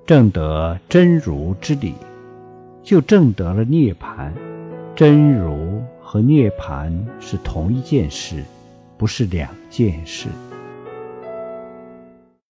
证得真如之理，就证得了涅槃。真如和涅槃是同一件事，不是两件事。